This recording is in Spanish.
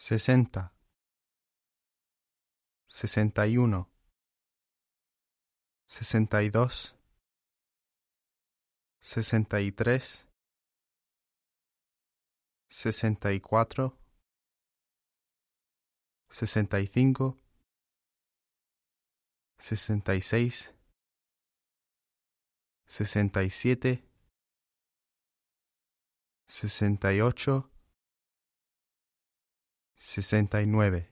60, 61, 62, 63, 64, 65, 66, 67, 68, 69.